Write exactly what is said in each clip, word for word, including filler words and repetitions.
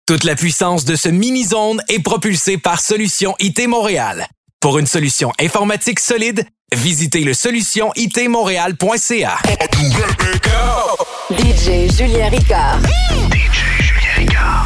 Toute la puissance de ce mini-zone est propulsée par Solution I T Montréal. Pour une solution informatique solide, visitez le solution I T montréal point c a. D J Julien Ricard. D J Julien Ricard.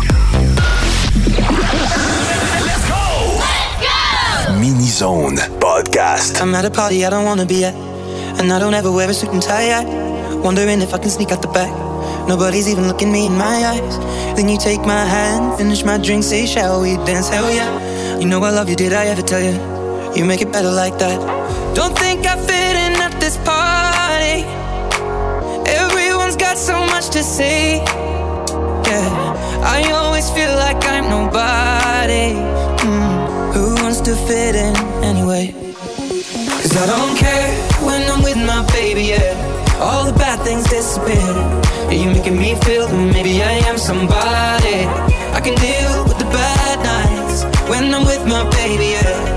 Let's go! Let's go! Mini-zone podcast. I'm at a party I don't wanna be at, and I don't ever wear a suit and tie yet. Wondering if I can sneak out the back. Nobody's even looking me in my eyes. Then you take my hand, finish my drink, say shall we dance? Hell yeah. You know I love you, did I ever tell you? You make it better like that. Don't think I fit in at this party. Everyone's got so much to say. Yeah, I always feel like I'm nobody. Mm, who wants to fit in anyway? Cause I don't care when I'm with my baby, yeah. All the bad things disappear. Yeah, you're making me feel that maybe I am somebody. I can deal with the bad nights when I'm with my baby, yeah.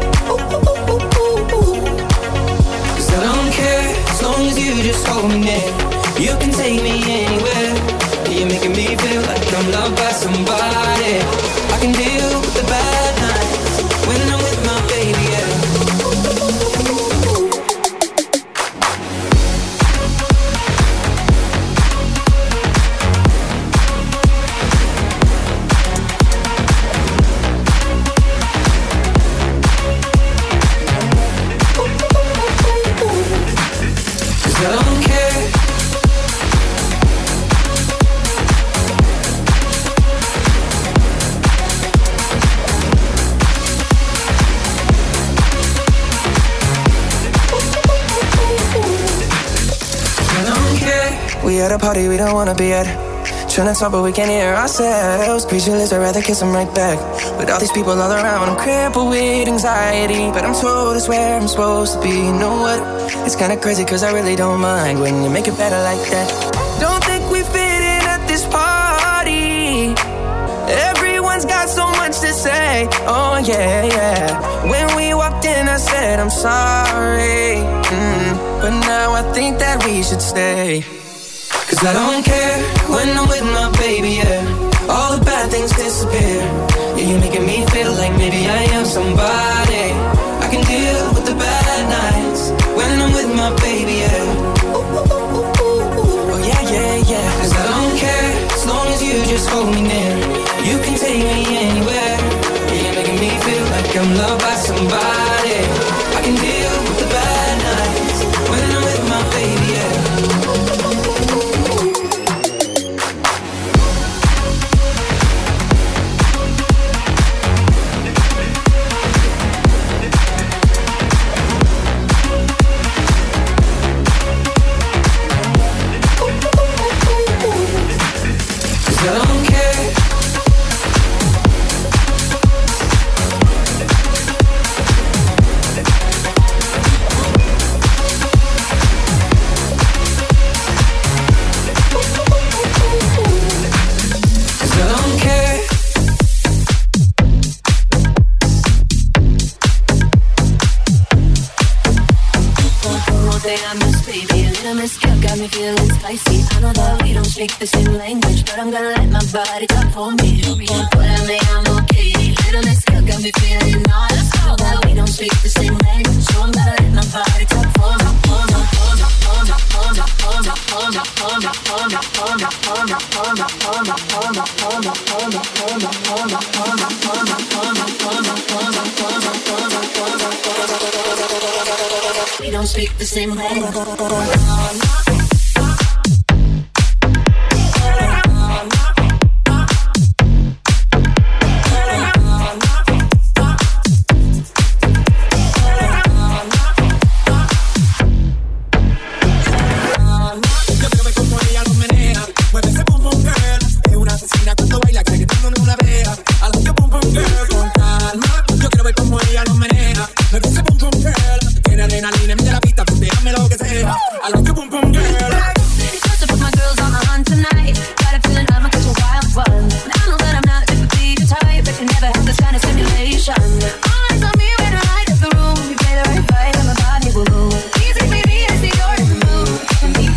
Cause I don't care as long as you just hold me near. You can take me anywhere. Yeah, you're making me feel like I'm loved by somebody. I can deal with the bad nights when I'm with my baby, yeah. We at a party we don't wanna be at. Trying to talk but we can't hear ourselves. Speechless, I'd rather kiss them right back. With all these people all around, I'm crippled with anxiety. But I'm told it's where I'm supposed to be. You know what? It's kinda crazy cause I really don't mind when you make it better like that. Don't think we fit in at this party. Everyone's got so much to say. Oh yeah, yeah. When we walked in I said I'm sorry. Mm, but now I think that we should stay. Cause I don't care when I'm with my baby, yeah. All the bad things disappear. Yeah, you're making me feel like maybe I am somebody. I can deal with the bad nights when I'm with my baby, yeah. Oh yeah, yeah, yeah. Cause I don't care as long as you just hold me near. You can take me anywhere. Yeah, you're making me feel like I'm loved by somebody. I can deal with the bad nights when I'm with my baby, yeah. Speak the same language, but I'm gonna let my body talk for me. Pórame, I'm okay. Little Miss Girl got me feeling all so that we don't speak the same language, so I'm gonna let my body talk for me. We don't speak the same language.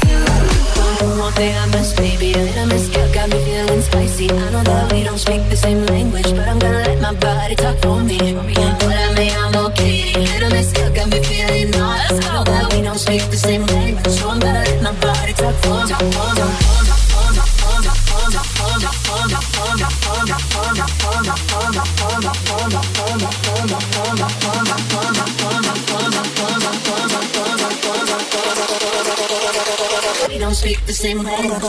Say I'm a miss, baby, a little miss. Girl got me feeling spicy. I know that we don't speak the same same language, but I'm gonna let my body talk for me. But I may, I'm okay. Little bit still got me feeling naughty. I know that we don't speak the same language, so I'm gonna let my body talk for me. We don't speak the same language.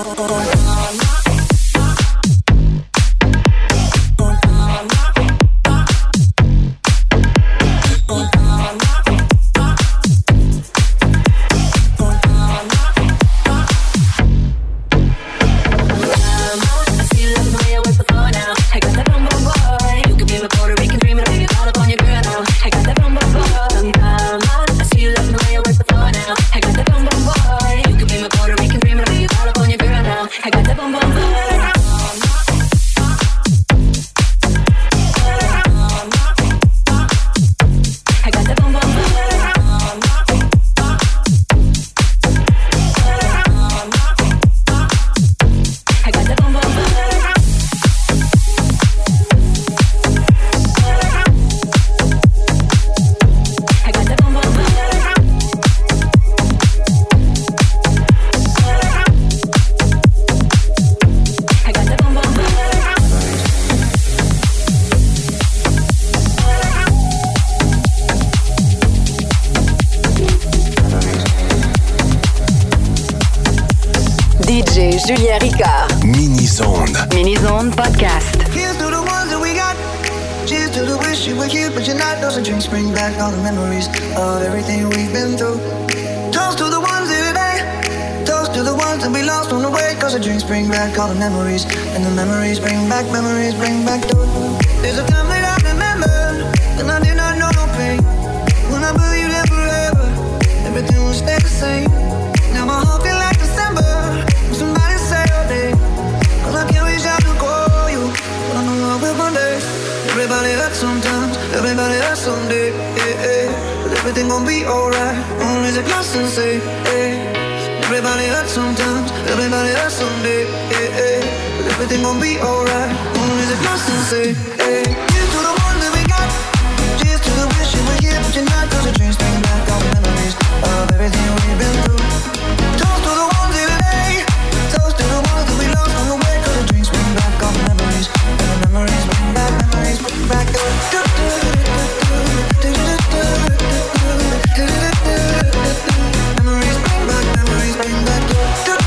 D J Julien Ricard. Mini-Zone. Mini-Zone Podcast. Here's to the ones that we got. Cheers to the wish you were here, but you're not. Those are drinks bring back all the memories of everything we've been through. Toast to the ones here today. Toast to the ones that we lost on the way. Cause the drinks bring back all the memories. And the memories bring back, memories bring back joy. There's a time that I remember when I did not know no pain. When I believed that forever everything would stay the same. Now my heart feel like December. Somebody say your name, cause I can't reach out to call you, but I know I will one day. Everybody hurts sometimes, everybody hurts someday, yeah, yeah. But everything gon' be alright, gonna raise a glass and say, hey. Everybody hurts sometimes, everybody hurts someday, yeah, yeah. But everything gon' be alright, gonna raise a glass and say, hey. Here's to the ones that we got, cheers to the wish you were here, but you're not. Cause the dreams bring back all the memories of everything we've been through. Toast to the ones here today. Toast to the ones that we lost on the way. Cause the drinks bring back all the memories. And the memories bring back, memories bring back the memories bring back, memories bring back the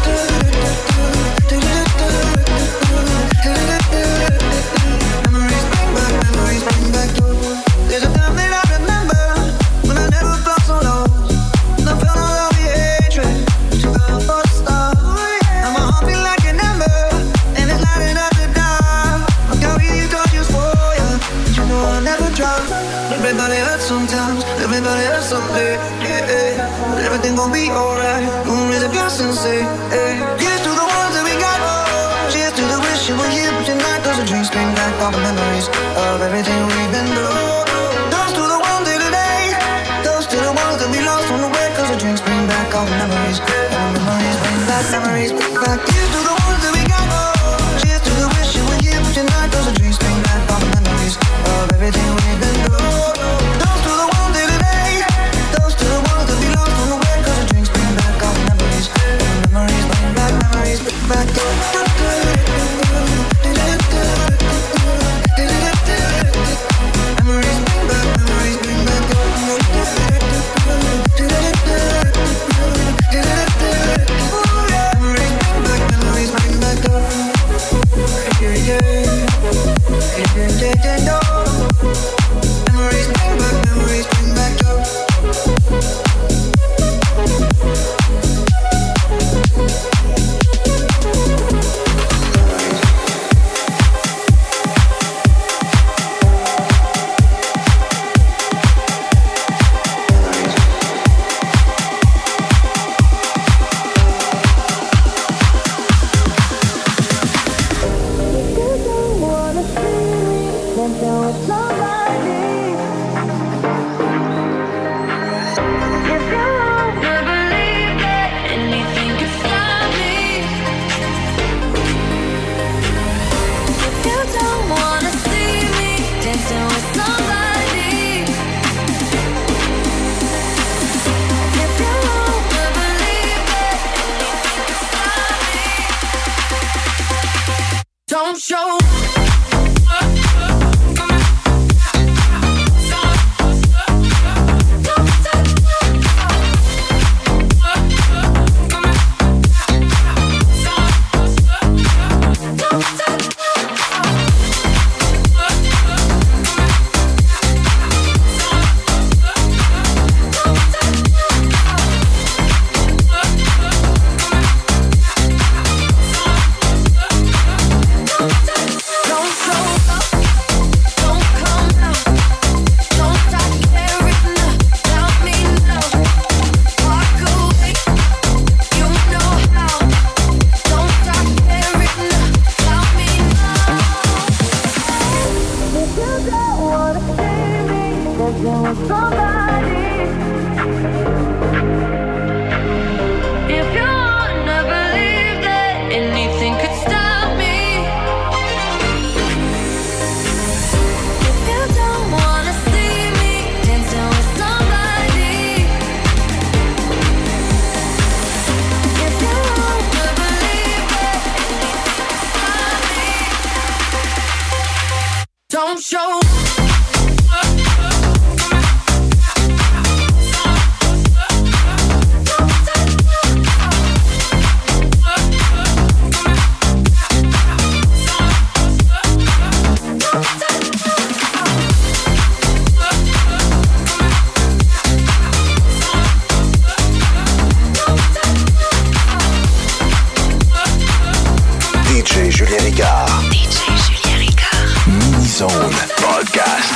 memories bring back, memories bring back the. There's a time that I remember when I never felt so low. And I felt all of the hatred that you felt for the start. Now my heart feel like an ember, and it's lighting up the dark. I'll carry these torches for you, but you know I'll never drop. Everybody hurts sometimes, everybody hurts someday, yeah, yeah. But everything gon' be alright. Gonna raise a glass and say, hey. Here's to the ones that we got. Cheers to the wish you were here, but you're not. Cause the drinks bring back all the memories of everything we've been through. Toast to the ones here today. Toast to the ones that we lost on the way. Cause the drinks bring back all the memories. And the memories bring back, memories bring back. Here's to the ones that we got. Cheers to the wish you were here, but you're not. Cause the drinks bring back all the memories of everything we've been through. Toast to the ones here today. Toast to the ones that we lost on the way. Cause the drinks bring back all the memories. And the memories bring back, memories bring back. Memories bring back, memories bring back. Memories bring back, memories bring back. Yeah, yeah, yeah, yeah, yeah, yeah. Memories bring back, memories bring back. Wanna dancing with somebody. If you wanna believe that anything could stop me, if you don't wanna see me dancing with somebody, if you wanna believe that anything could stop me, don't show. D J Julien Ricard. D J Julien Ricard. Mini Zone Podcast.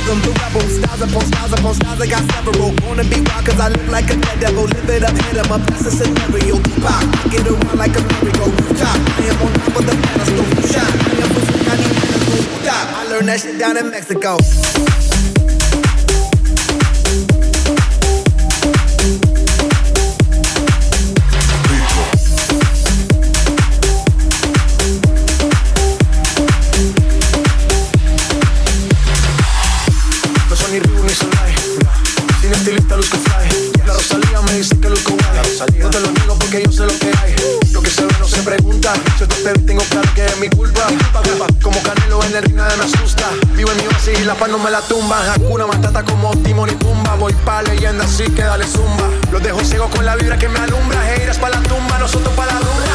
rhythm, the rebel. Styles upon styles upon styles, I got several. Wanna be wild cause I look like a dead devil. Live it up, hit 'em up, that's a scenario. Tupac, get around like a merry-go. Rooftop, I am on top of the pedestal. Shine, I am for some kind of medical. Stop, I learned that shit down in Mexico. No te lo niego porque yo sé lo que hay. Lo que se ve no se pregunta. Si te espero y tengo claro que es mi culpa. Como Canelo en el ring nadie me asusta. Vivo en mi oasis y la paz no me la tumba. Hakuna Matata como Timon y Pumba. Voy pa' leyenda así que dale zumba. Los dejo ciegos con la vibra que me alumbra. Heiras pa' la tumba, nosotros pa' la rumba.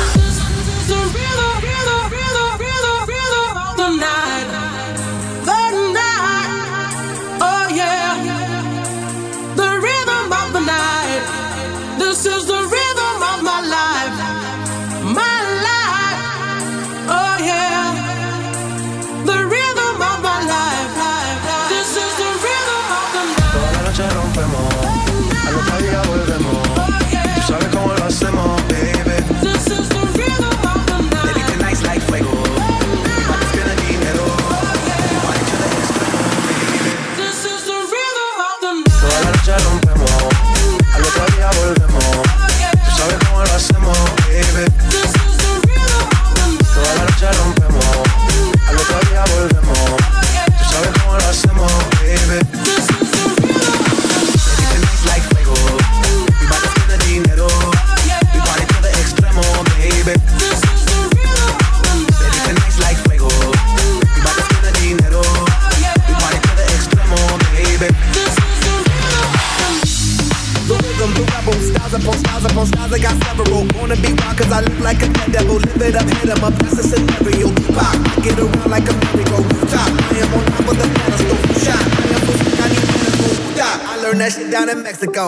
This is the rhythm of my life, my life, oh yeah. The rhythm of my life, this is the rhythm of the night. Toda la noche rompemos, al otro día volvemos. Tú sabes cómo lo hacemos, baby. This is the rhythm of the night. Baby, tonight's like fuego. Mi padre tiene dinero. Mi padre tiene extremo, baby. This is the rhythm of the night. Toda la noche rompemos, al otro día volvemos. Tú sabes cómo lo hacemos, baby. This is the rhythm of the night. Toda la noche rompemos, al otro día volvemos. Tú sabes cómo lo hacemos, baby. This is the rhythm. Baby, tonight's like fuego. Mi padre tiene dinero. Mi padre tiene extremo, baby. This is the rhythm of the night. Baby, tonight's like fuego. Mi padre tiene dinero. Mi padre tiene extremo, baby. This is the rhythm. The rhythm, the rebel. Styles upon styles upon styles, I got several. Wanna be wild cause I look like a dead devil. Live it up, hit 'em up, that's a scenario. Tupac, get around like a merry-go. Rooftop, I am on top of the pedestal. Shine, I am for some kind of medical. Stop, I learned that shit down in Mexico.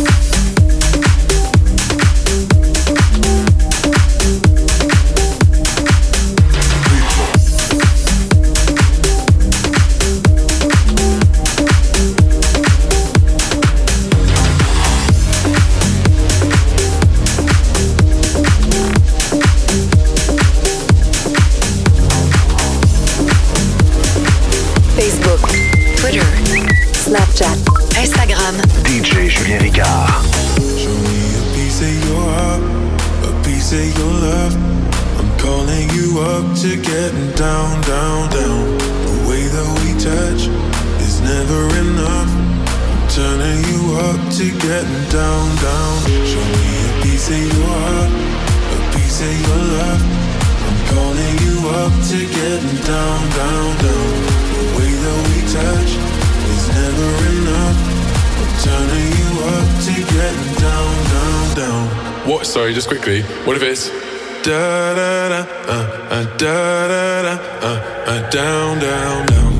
Facebook, Twitter, Snapchat, Instagram. D J Julien Ricard. Show me a piece of your heart, a piece of your love. I'm calling you up to getting down, down, down. The way that we touch is never enough. I'm turning you up to getting down, down. Show me a piece of your heart, a piece of your love. I'm calling you up to getting down, down, down. The way that we touch is never enough. I'm turning you up to getting down, down, down. What? Sorry, just quickly. What if it's Da da da, uh, uh, da da da, uh, uh, down, down, down.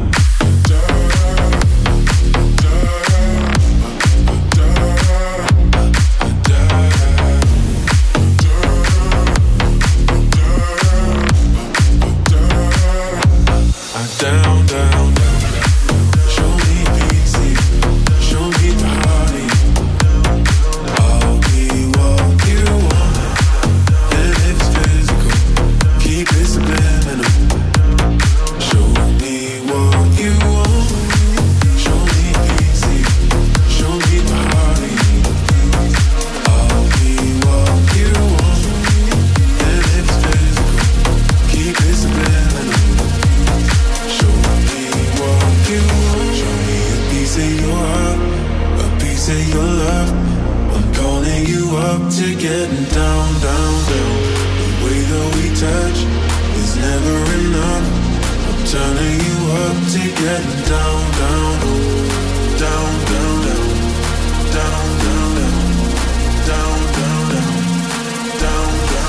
Down, down, down. Show me easy, show me body. I'll be what you want, and if it's physical, keep it subliminal. Show me what you want. Show me easy, show me body. I'll be what you want, and if it's physical, keep it subliminal. Show me what you want. Show me a piece of your heart, a piece of your love. I'm calling you up to getting down, down, down. The way that we touch is never enough. I'm turning you up to getting down, down, down, down, down, down, down, down, down, down, down,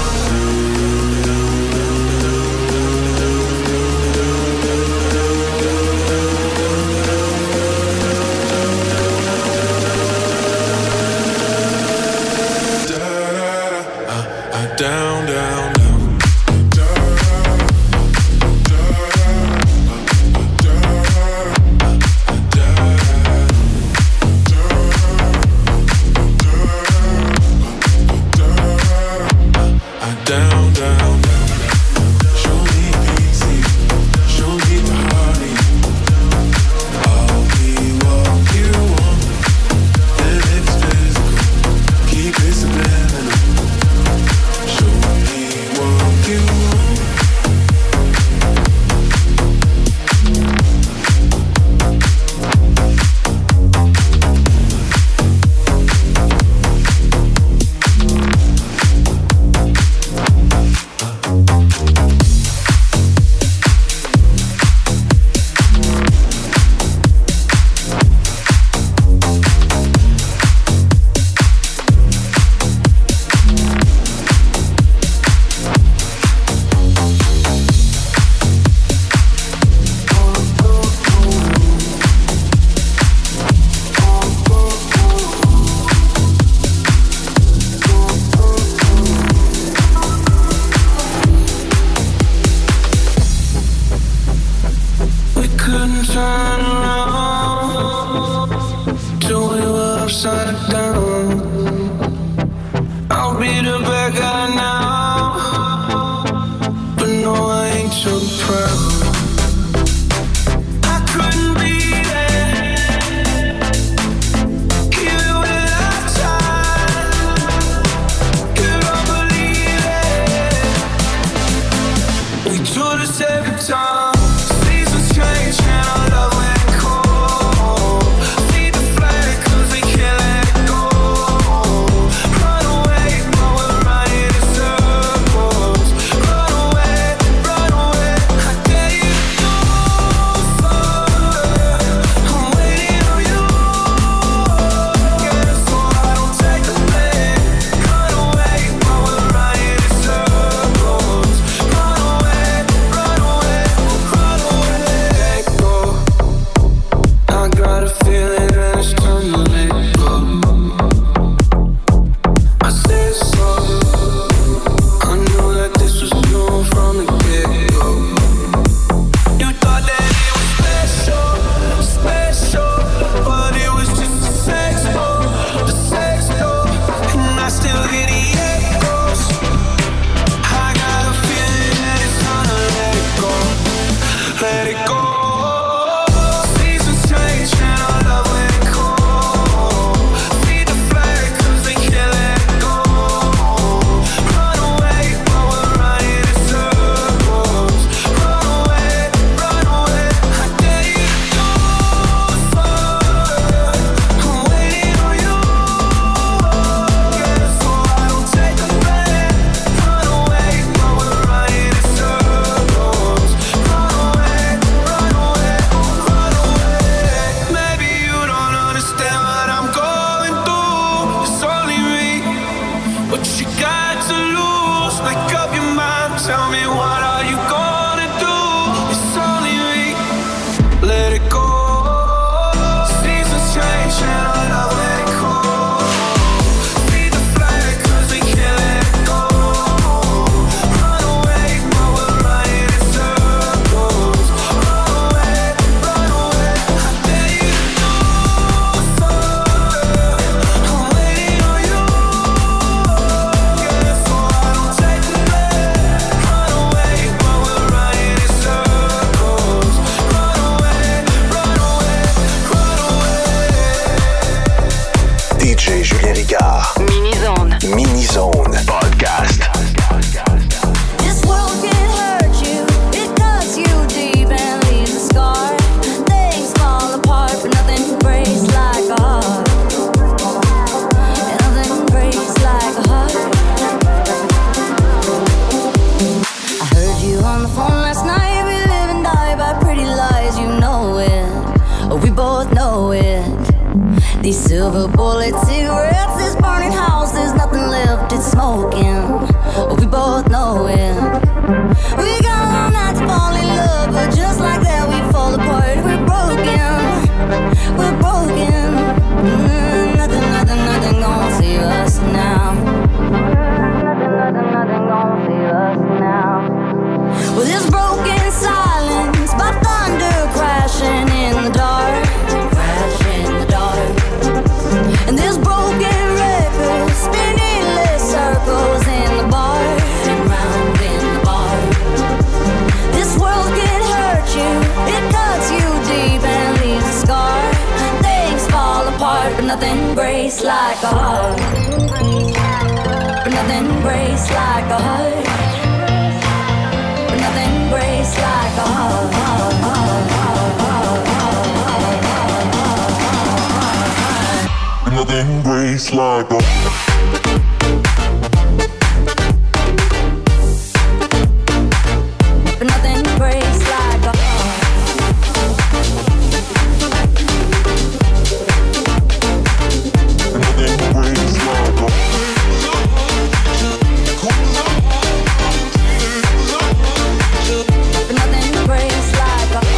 down, down, down. J Julien Ricard. Mini-zone. Mini-zone. Podcast. This world can hurt you, it cuts you deep and leaves a scar. Things fall apart, but nothing breaks like a heart. And nothing breaks like a heart. I heard you on the phone last night. We live and die by pretty lies, you know it. Oh, we both know it. These silver bullet cigarettes, this burning house, there's nothing left, it's smoking. Oh, we both know it. We got all night to fall in love, but just like that we fall apart. We're broken, we're broken. Mm, nothing, nothing, nothing gonna save us now. Nothing, nothing, nothing gonna save us now. Well, this broken silence by thunder crashing in the dark, crashing in the dark. And this broken record spinning less circles in the bar and round in the bar. This world can hurt you, it cuts you deep and leaves a scar. Things fall apart, but nothing breaks like a heart. But nothing breaks like a heart. But nothing breaks like a heart. Nothing breaks like a But nothing breaks like a Nothing breaks like a But nothing breaks like a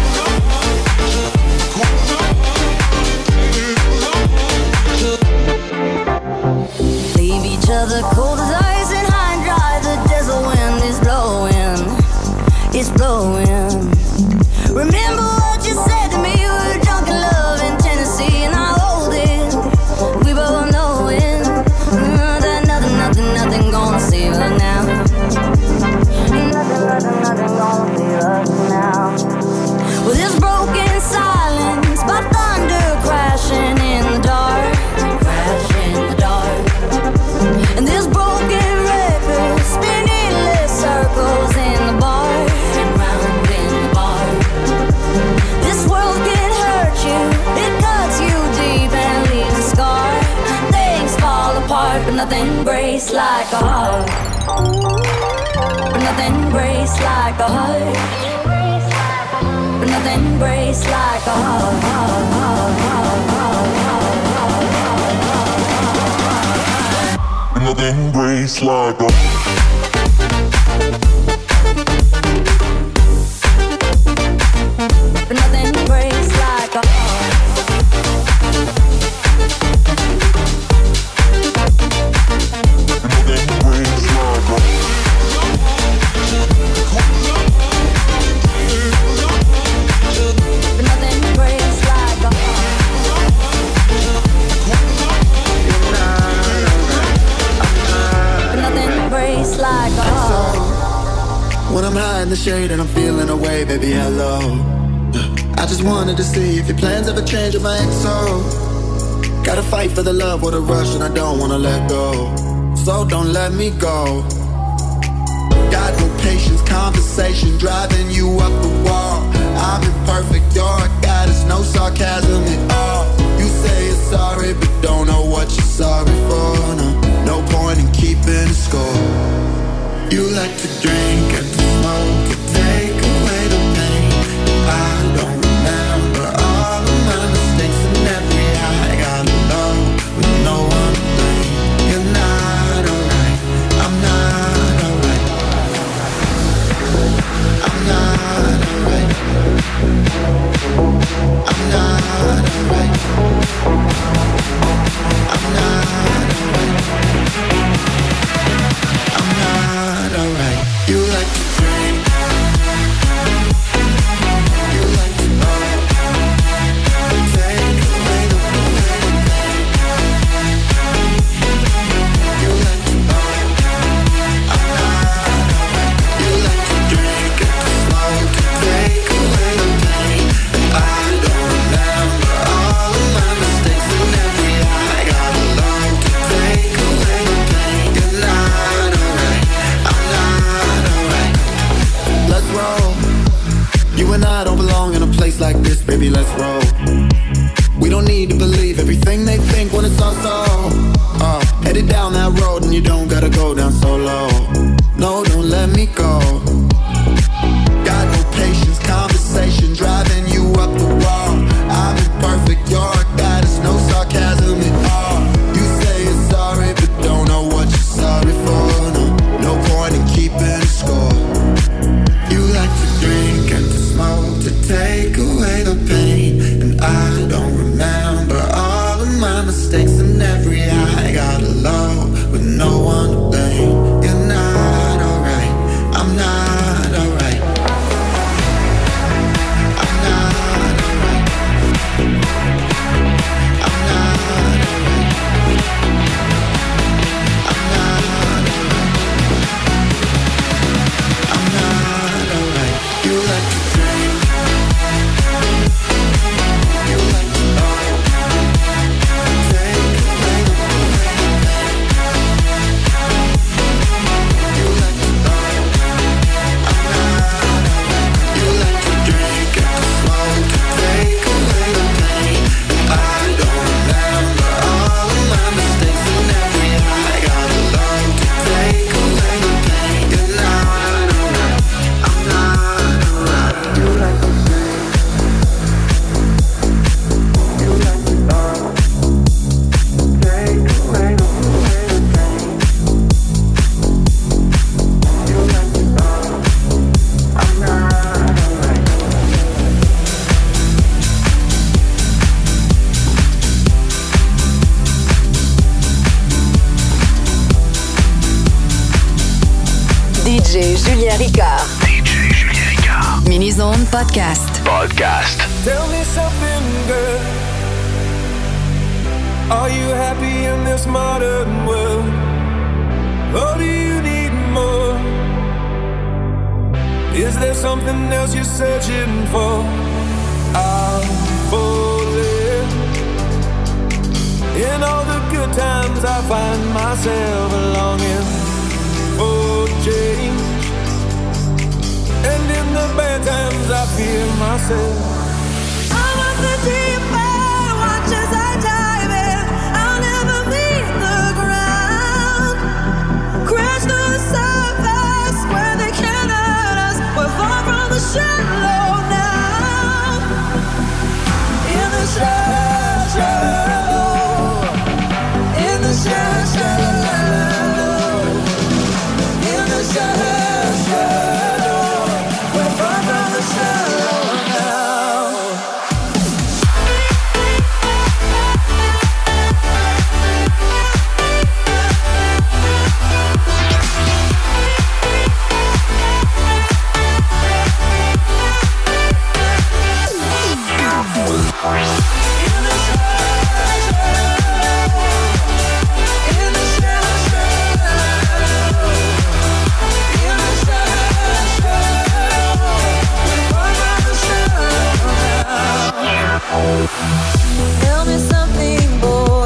leave each other cold as ice and high and dry. The desert wind is blowing, it's blowing. Remember what you said to me, we were drunk in love in Tennessee, and I hold it, we both know it. uh, That nothing, nothing, nothing gonna save us now. Nothing, nothing, nothing gonna save us now. Well, this broken silence by thunder crashing in the dark, crashing in the dark. And this broken record spinning less circles in the bar and round in the bar. This world can hurt you, it cuts you deep and leaves a scar. Things fall apart, but nothing breaks like a heart. But nothing breaks like a heart. But nothing breaks like a heart. Nothing breaks like a But nothing breaks like a Nothing breaks like a But nothing breaks like a But nothing breaks like a When I'm high in the shade and I'm feeling away, baby, hello. I just wanted to see if your plans ever change with my X O. Gotta fight for the love with a rush and I don't wanna let go. So don't let me go. Got no patience, conversation driving you up the wall. I'm imperfect, you're a goddess, no sarcasm at all. You say you're sorry, but don't know what you're sorry for. No, no point in keeping score. You like to drink and to smoke and take away the pain. I don't remember all of my mistakes and every high I got low with no one to blame. You're not alright, I'm not alright. I'm not alright. I'm not alright. I'm not alright. I'm not alright. You like J Julien Ricard. D J Julien Ricard. Mini-Zone Podcast. Podcast. Tell me something, girl. Are you happy in this modern world? Or do you need more? Is there something else you're searching for? I'm falling. In all the good times I find myself longing for change, and in the bad times I fear myself. I'm on the deep end, watch as I dive in. I'll never meet the ground. Crash to the surface where they can't hurt us. We're far from the shallow now. In the shallow, shallow. In the shallow, shallow. In the shallow, shallow. We're far from the shallow now. Tell me something, boy.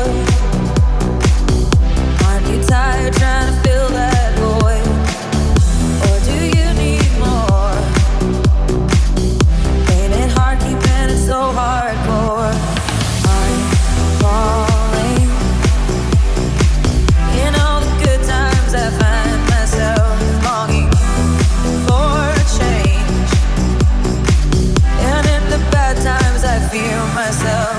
Aren't you tired trying to fill that void? Or do you need more? Ain't it hard keeping it so hardcore? I'm falling. In all the good times I find myself longing for change, and in the bad times I fear myself.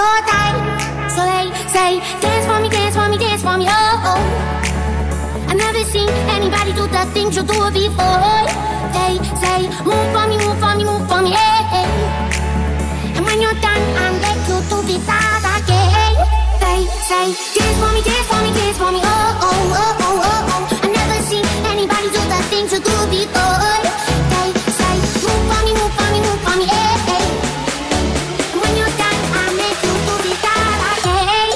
more time. So they say, dance for me, dance for me, dance for me, oh, oh. I've never seen anybody do the things you do before. They say, move for me, move for me, move for me, hey, hey. And when you're done, I'll let you do the that again. They say, dance for me, dance for me, dance for me, oh, oh, oh, oh, oh, oh. I've never seen anybody do the things you do before. They say, move for me, move for me, move for me, hey, hey. And when you're done, I'll let you do the that again.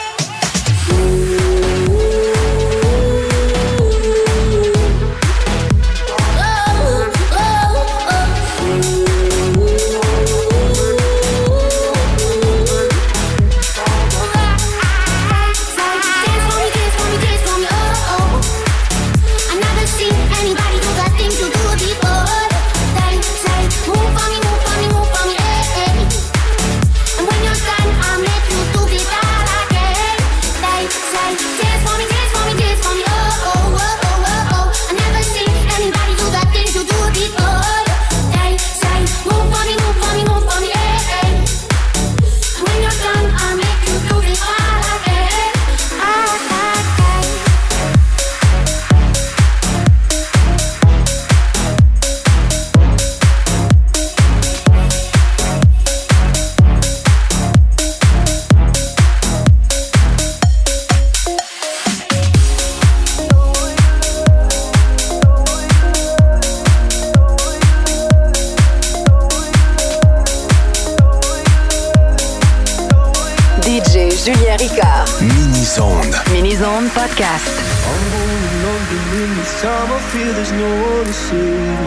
Julien Ricard. Mini-Zone. Mini-Zone Podcast. I'm going under in this time. I feel there's no one to save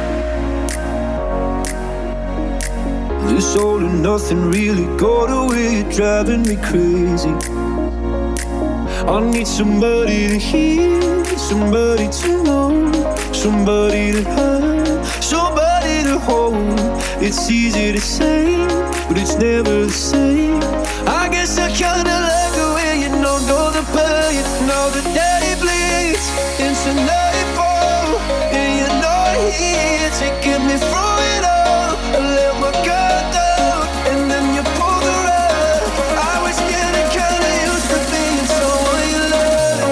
me. This all and nothing really got away. You're driving me crazy. I need somebody to hear, somebody to know, somebody to have, somebody to hold. It's easy to say, but it's never the same. I guess I kinda like the way you know, know the pain. Now the day bleeds into nightfall, and you're not here to get me through it all. I let my guard down, and then you pull the rug. I was getting kinda used to being someone you love.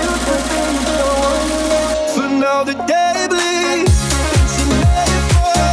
For now the day bleeds into nightfall.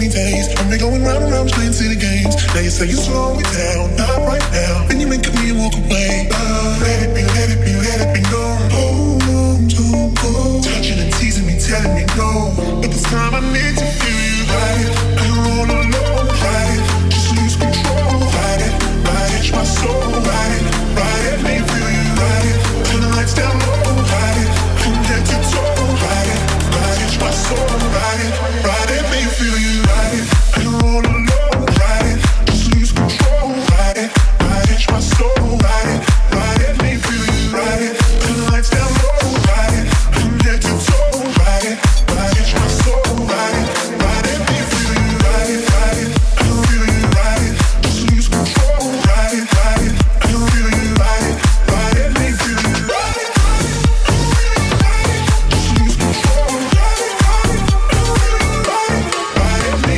twenty days. I'm been going round and round playing city games. Now you say you slow me down, not right now. Then you make me and walk away. Uh, let it be, let it be, let it be known. Hold on, don't go. Touching and teasing me, telling me no. But this time I need to feel you right. I'm all alone, right? Just lose control, right? Right, it's my soul, right? Right, let me feel you, right? Turn the lights down low, right? From head to toe, right? Right, it's my soul, right? Right, let me feel you, right? I'm all alone, right? Just lose control, right? Right, it's my soul, right? Right, let me feel you, right? Turn the lights down low, right? From head to toe, right? Right, it's my soul, right? Right, let me feel you, right? Right, I feel you, right? Just lose control, right? Right, I feel you, right? Right, let me feel you, right? Just lose control, right? Right, I feel you, right? Right, let me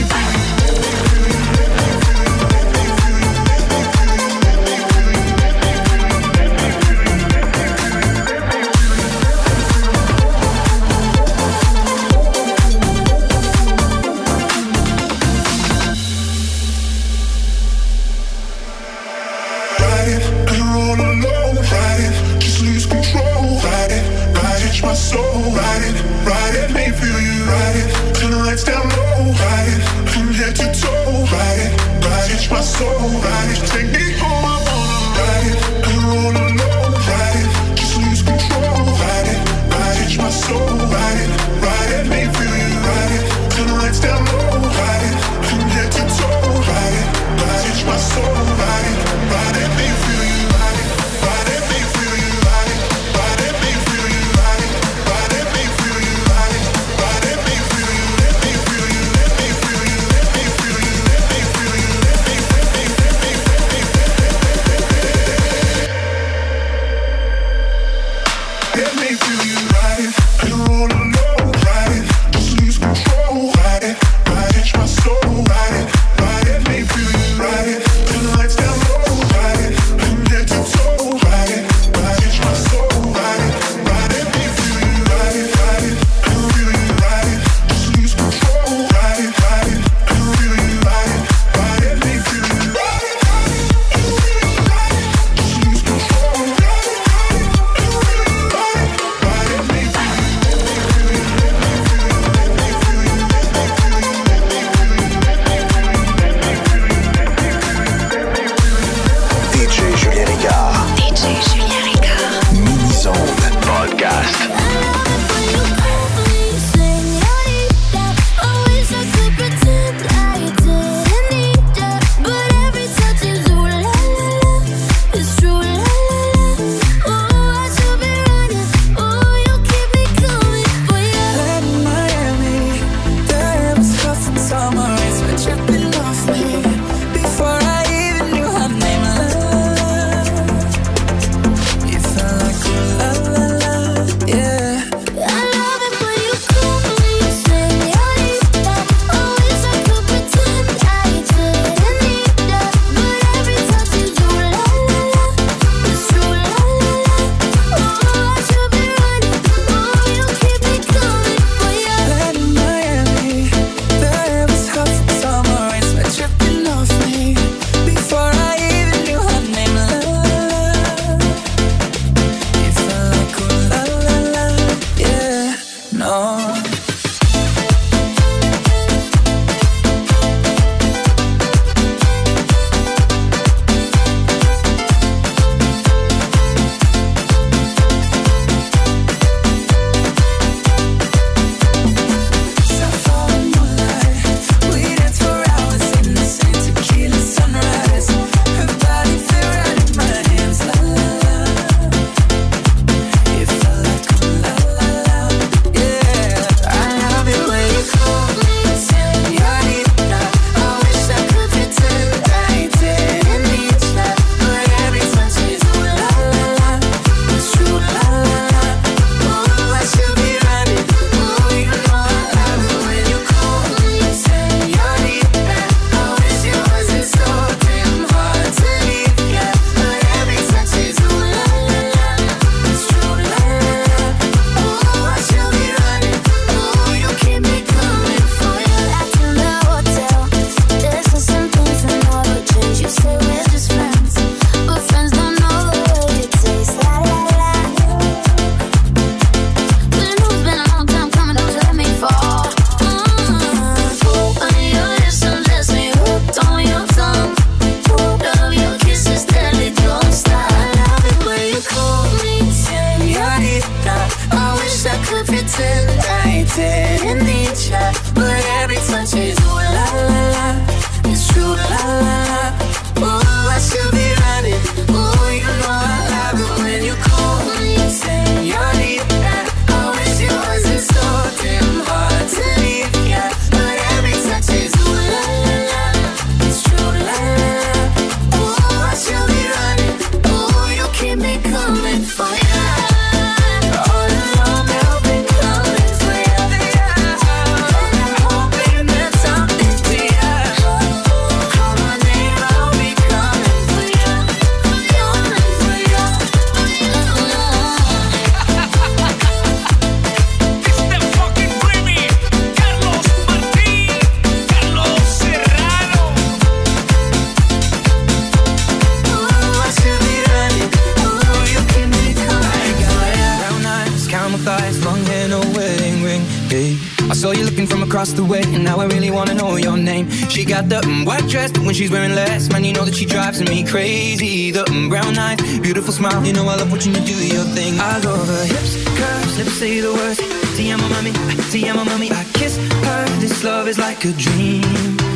you looking from across the way, and now I really wanna know your name. She got the mm, white dress, but when she's wearing less, man, you know that she drives me crazy. The mm, brown eyes, beautiful smile, you know I love watching you do your thing. I love her hips, curves, lips say the words. Te amo mami, te amo mami, I kiss her. This love is like a dream.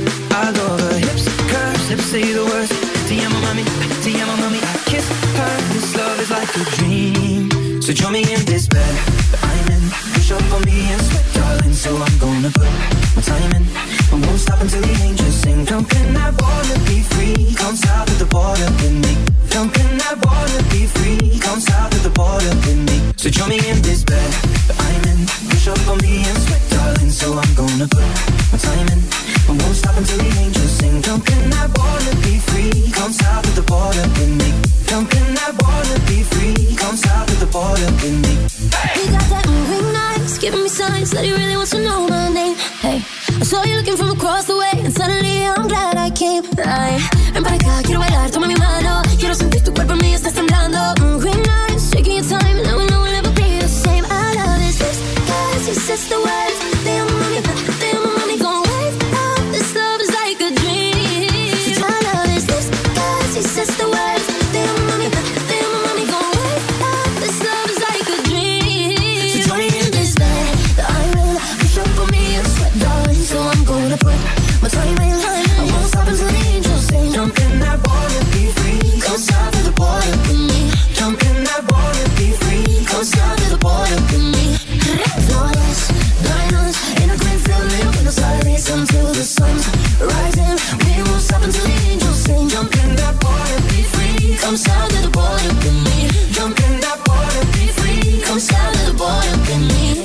I love her hips, curves, lips say the words. Te amo mami, te amo mami, I kiss her. This love is like a dream. So join me in this bed that I'm in. Push up on me and sweat, darling. So I'm gonna put my time in. I won't stop until the angels sing. Jump in that water, be free. Come south of the border with me. Jump in that water, be free. Come south of the border with me. So join me in this bed that I'm in. Push up on me and sweat, darling. So I'm gonna put my time in. I won't stop until the angels sing. Jump in that water, be free. Come south of the border with me. Jump in that water, be free. Come south of the border with me. He got that moving eyes, giving me signs that he really wants to know my name. Hey, I saw you looking from across the way, and suddenly I'm glad I came. Ay, ven para acá, quiero bailar, toma mi mano. Quiero sentir tu cuerpo en mí, estás temblando. Moving eyes, taking your time, now we know we'll never be the same. I love his lips, cause he says the words. They amo mami, they amo mami, gon' wake up. This love is like a dream. So I love his lips, cause he says the words. They amo mami, they amo mami, gon' wake up. This love is like a dream. So join me in this bed that I'm in. Push up on me and sweat, darling. So I'm gonna put my time in. I won't stop until the angels sing. Jump in that water, be free. Come south of the border with me. Jump in that water, be free. Come south of the border with me. Flawless diamonds in a green field, live in the silence until the sun's rising. We won't stop until the angels sing. Jump in that water, be free. Come south of the border with me. Jump in that water, be free. Come south of the border with me.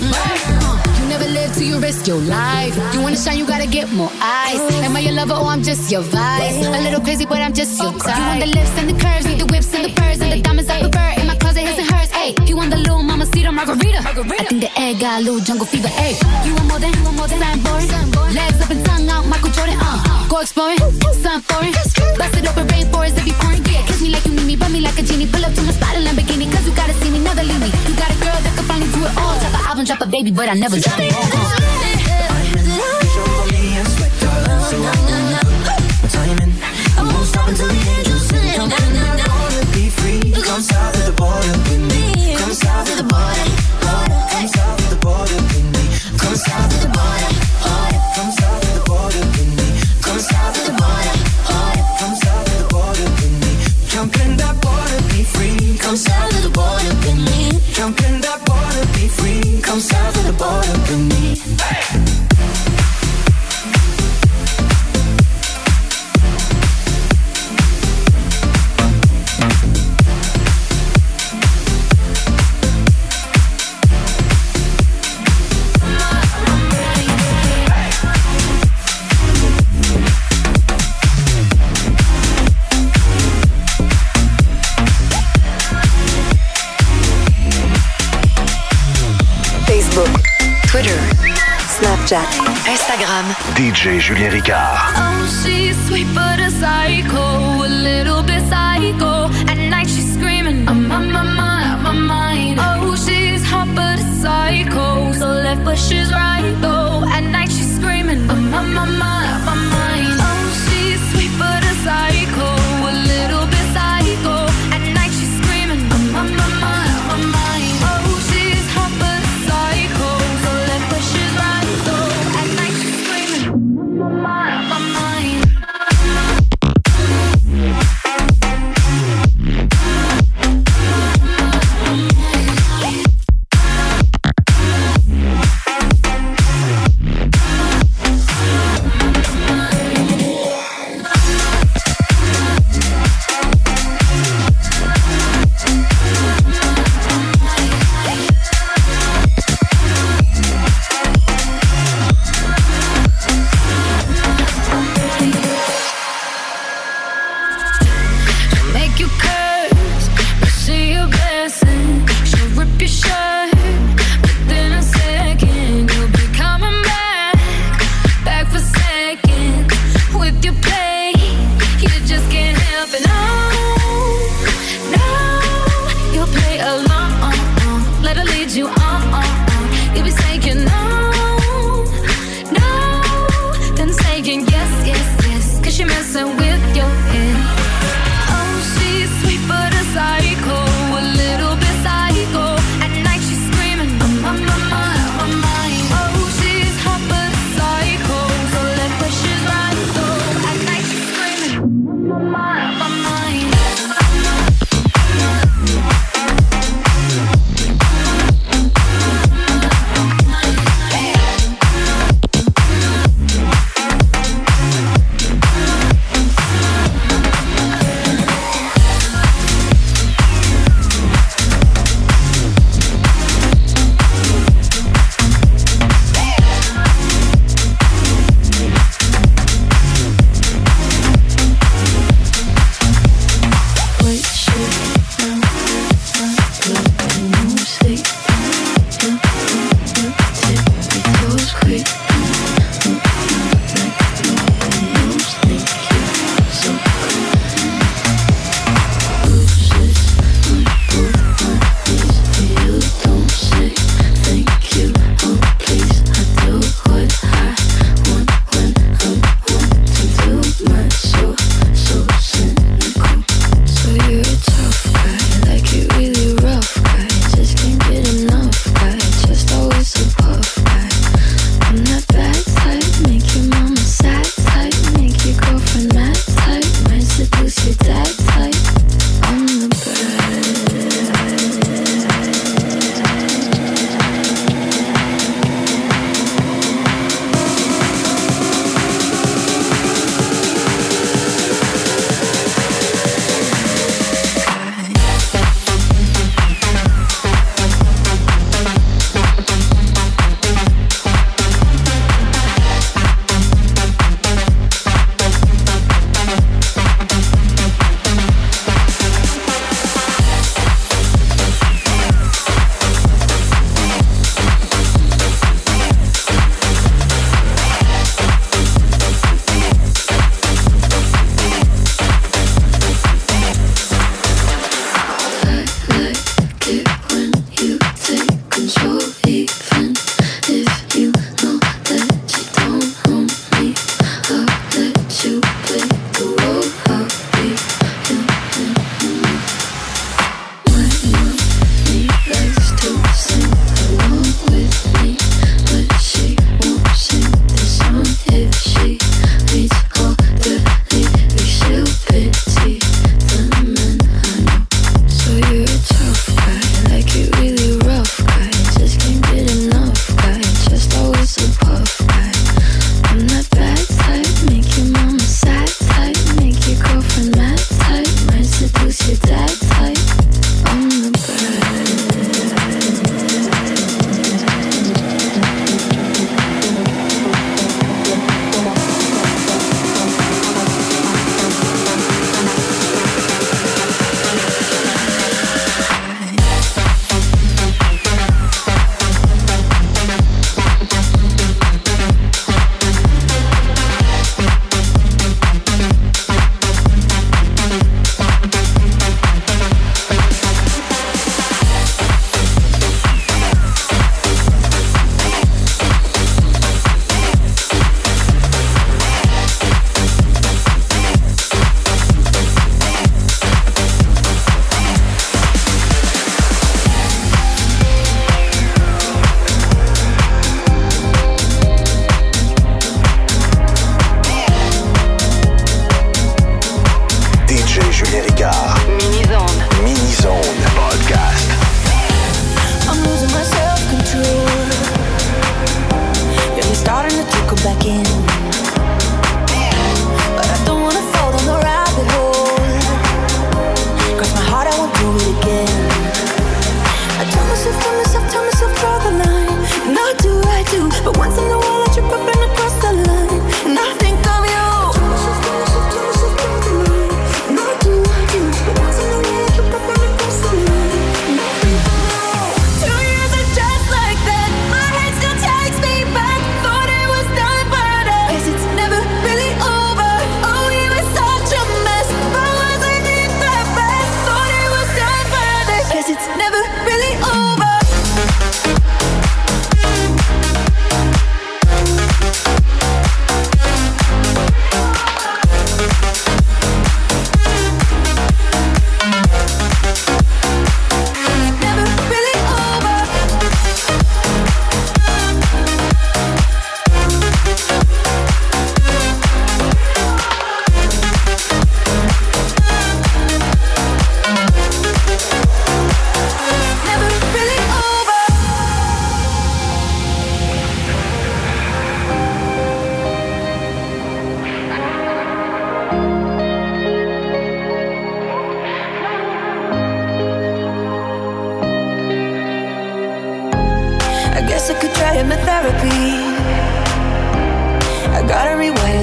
You never live till you risk your life. You wanna shine, you gotta get more eyes. Am I your lover or I'm just your vice? A little crazy, but I'm just your type. You want the lips and the curves, need the whips and the furs and the diamonds I prefer. In my closet, his and hers. Ayy, you want the little mama cedar margarita? I think the egg got a little jungle fever. Ayy, you want more than, you want more than Sandboard. Legs up and tongue out, Michael Jordan. Uh, go exploring, sun foreign. Bust it open, rainforest, if you pouring. Yeah, kiss me like you need me, rub me like a genie. Pull up to my spot in Lamborghini, cause you gotta see me, never leave me. You got a girl that can finally do it all. Drop an album, drop a baby, but I never drop it all. I won't stop until the angels sing. Jump in that water, be free. Come south of the border with me. Come south of the border, border. Come south of the border with me. Come south of the border, border. Come south of the border with me. Come south of the border, border. Come south of the border with me. Jump in that water, be free. Come south of the border with me. Jump in that water, be free. Come south of the border with me. Twitter, Snapchat, Instagram. D J Julien Ricard. Oh, she's sweet but a psycho, a little bit psycho. At night she's screaming, I'm on my mind, on my mind. Oh, she's hot but a psycho, so left but she's right though. At night she's screaming, I'm on my mind, on my mind. Oh, she's sweet but a psycho, a little bit psycho. At night she's screaming, I'm on my mind, on my mind. Oh, she's hot but a psycho, so left but she's right though. At night she's screaming, I'm on my mind, on my mind.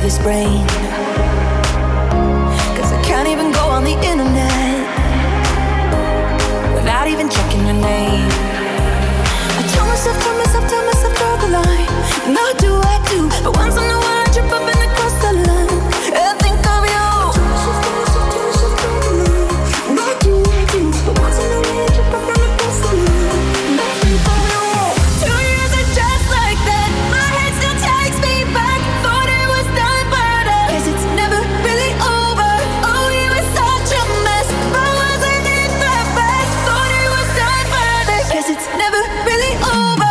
this brain. Cause I can't even go on the internet without even checking your name. I tell myself, tell myself, tell myself, draw the line. And I do, I do, but once in a while I trip up and I cross the line. And I think of you. And I do, I do, but once in a while I trip up and I cross the line. And I think of you. Two years are just like that. My head still takes me back. Thought it was done, but I guess it's never really over. Oh, you were such a mess, but wasn't it the best? Thought it was done, but I guess it's never really over.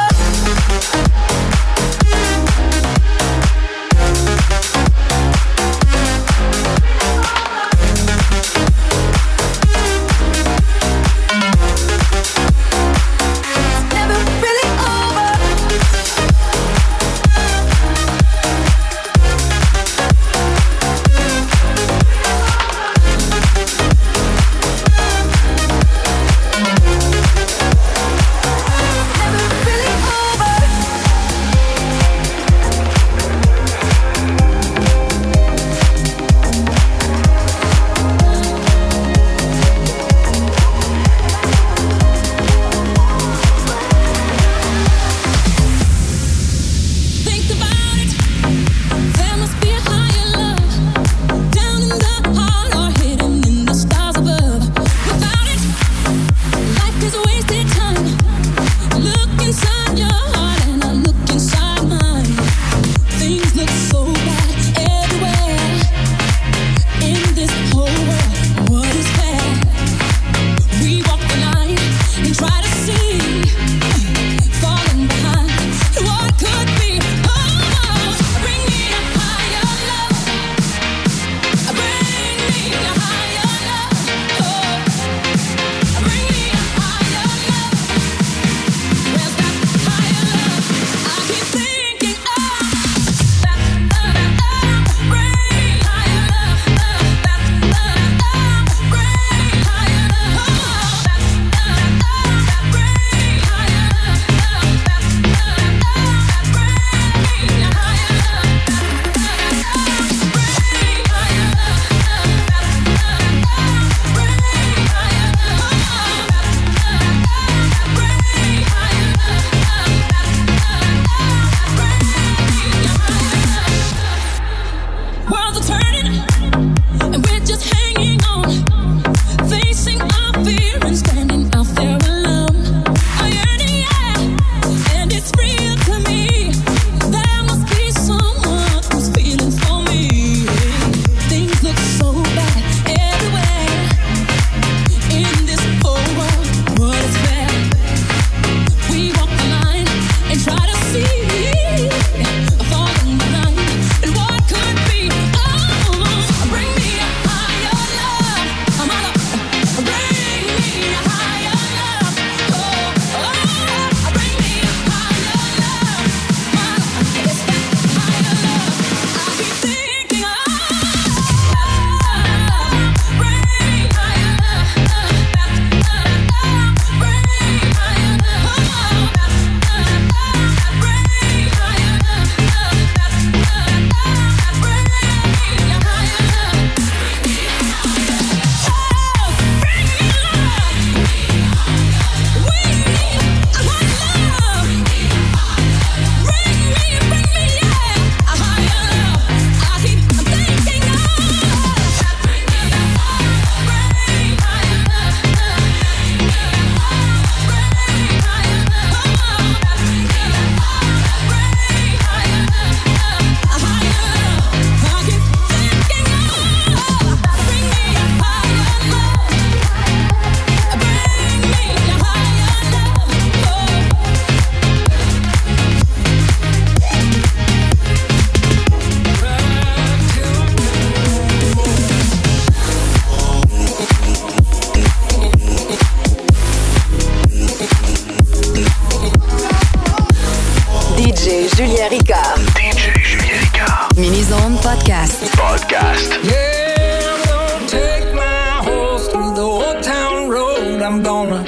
Julien Ricard. D J Julien Ricard. Mini-Zone Podcast. Podcast. Yeah, I'm gonna take my horse through the old town road. I'm gonna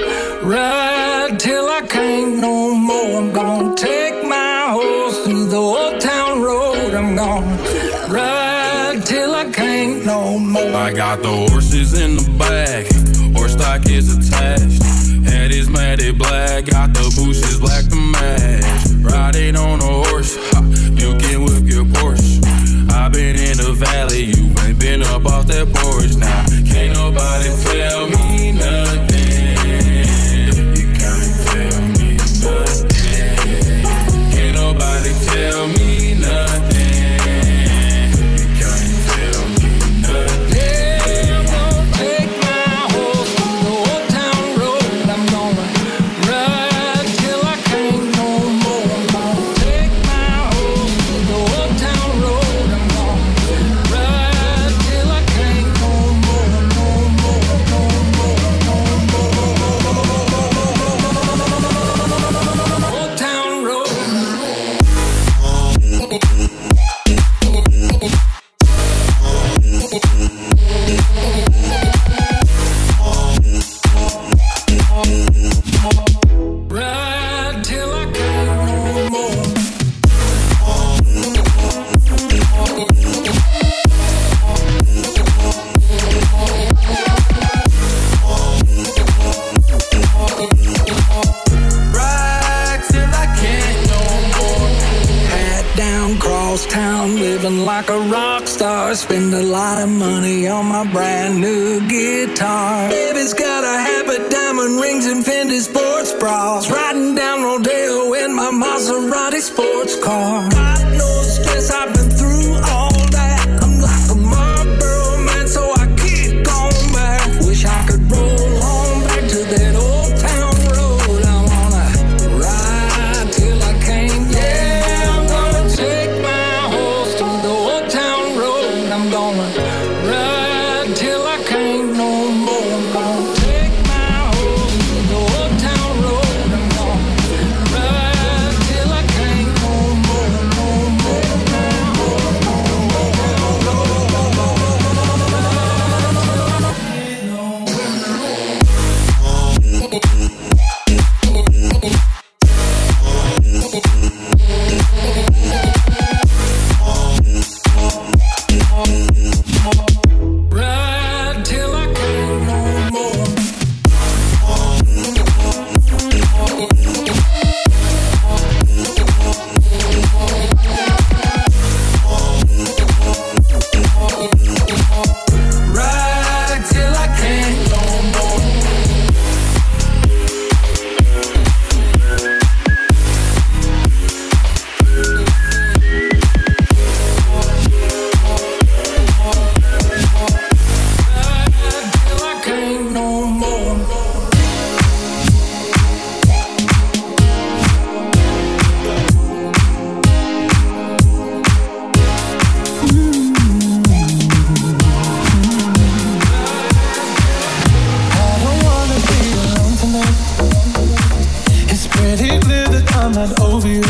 ride till I can't no more. I'm gonna take my horse through the old town road. I'm gonna ride till I can't no more. I got the horses in the back, horse stock is attached. Head is matted black, got the bushes black to match. Riding on a horse, ha, you can whip your Porsche. I've been in the valley, you ain't been up off that porch. Now, can't nobody tell me nothing. You can't tell me nothing. Can't nobody tell me nothing. You can't tell me nothing. Yeah, I'm gonna take my horse to the old town road. I'm gonna ride till I can't no more. I'm gonna take my horse to the old town road. I'm gonna ride till I can't no more, no more, no more, no more. Old town road. Ride till I can't no more. Ride till I can't no more. Hat down, cross town, living like a rock star. Spend a lot of money on my brand new guitar. Baby's got a habit, diamond rings and Fendi sports bras. Riding down Rodeo in my Maserati sports car. Got no stress, I've been through all that. I'm like a Marlboro man, so I kick on back. Wish I could roll on back to that old town road. I wanna ride till I can't. Yeah, I'm gonna take my horse to the old town road. I'm gonna ride till I can't no more. I'm gonna take my horse to the old town road. I'm gonna ride till I can't no more, no more, no more, no more, no ride till I can't no more. Ride till I can't no more. Ride till I can't no more. I don't wanna be alone tonight. It's pretty clear that I'm not over you.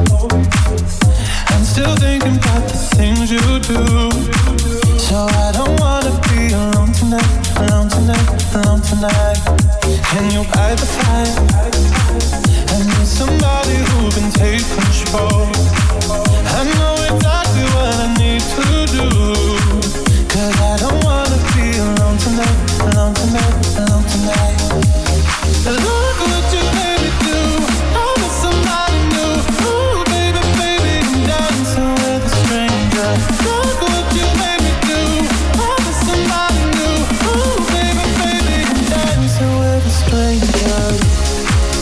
I'm still thinking about the things you do. So I don't wanna be alone tonight, alone tonight, alone tonight. Can you fight the fire? I need somebody who can take control. I know exactly what I need to do. Cause I don't wanna be alone tonight, alone tonight, alone tonight. Look what you made me do. I'm with somebody new. Ooh, baby, baby, I'm dancing with a stranger. Look what you made me do. I'm with somebody new. Ooh, baby, baby, I'm dancing with a stranger.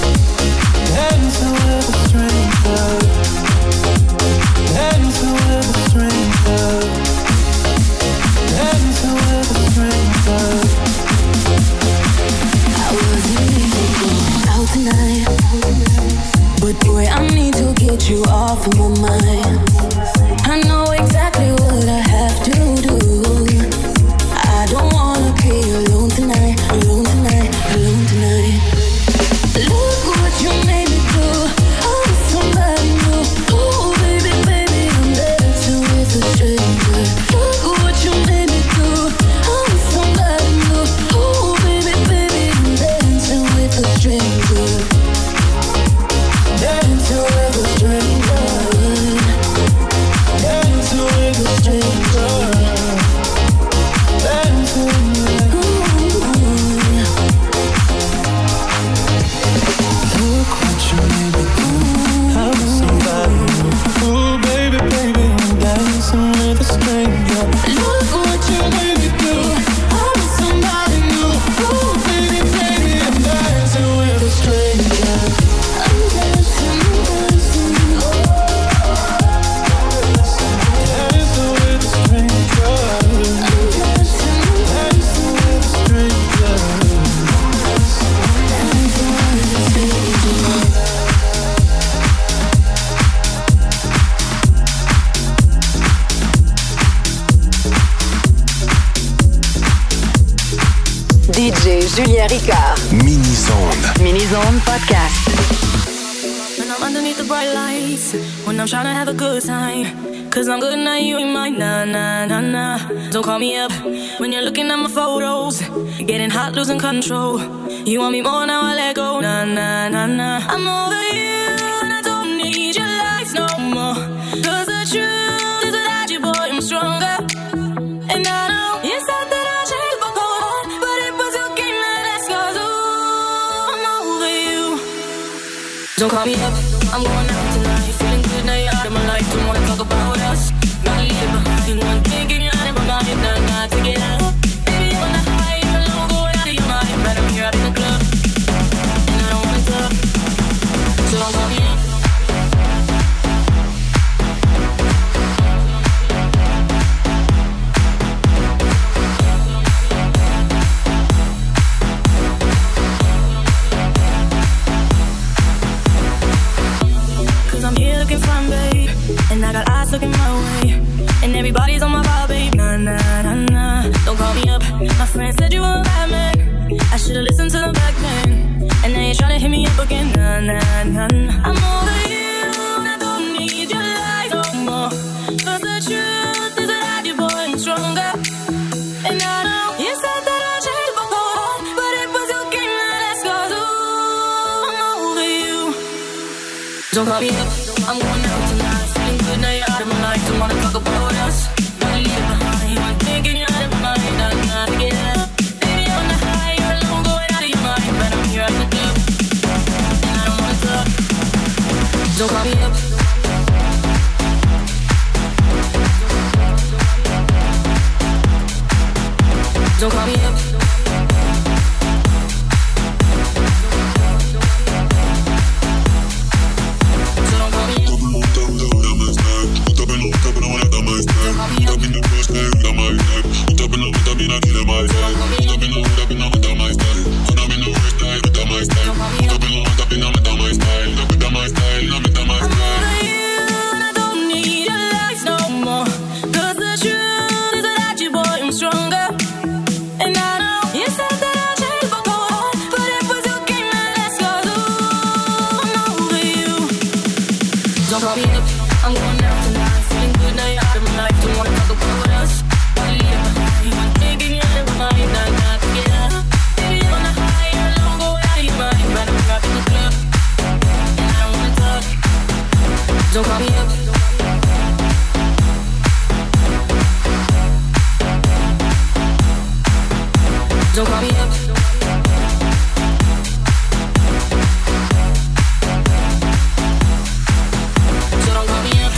D J Julien Ricard. Mini-Zone. Mini-Zone Podcast. When I'm underneath the bright lights, when I'm trying to have a good time, cause I'm good now, you ain't mine, nah, nah, nah, nah. Don't call me up when you're looking at my photos, getting hot, losing control. You want me more, now I let go, nah, nah, nah, nah. I'm over you, and I don't need your lies no more, cause the truth is without you, boy, I'm stronger. And I know you said that I'll change my heart, but it was your game that asked us, ooh, I'm over you. Don't call me up, I'm going out tonight, feeling good now you're out of my life. Don't wanna talk about us, gotta leave behind one thing in your out of my mind, nah, nah, take it out. Baby, you're on the high, you're alone, going out of your mind, but I'm here up in the club, and I don't wanna talk, so don't call me up. And I got eyes looking my way, and everybody's on my vibe, babe. Nah, nah, nah, nah. Don't call me up. My friend said you were a bad man. I should've listened to them back then. And now you're trying to hit me up again. Nah, nah, nah, nah. I'm over you, and I don't need your lies no more. Cause the truth is without you, boy, I'm stronger. And I know you said that I'll change my heart, but it was your game that asked us, ooh, I'm over you. Don't call me up. I'm going out tonight, feeling good now you're out of my life. Don't wanna talk about us, gotta leave it behind. One thinking you're out of my mind, nah, nah, to get out. Baby, you're on the high, you're alone, going out of your mind, but I'm here at the club, and I don't wanna talk. Don't call me up. Don't call me up. Don't call me up. Don't call me up. So don't call me up.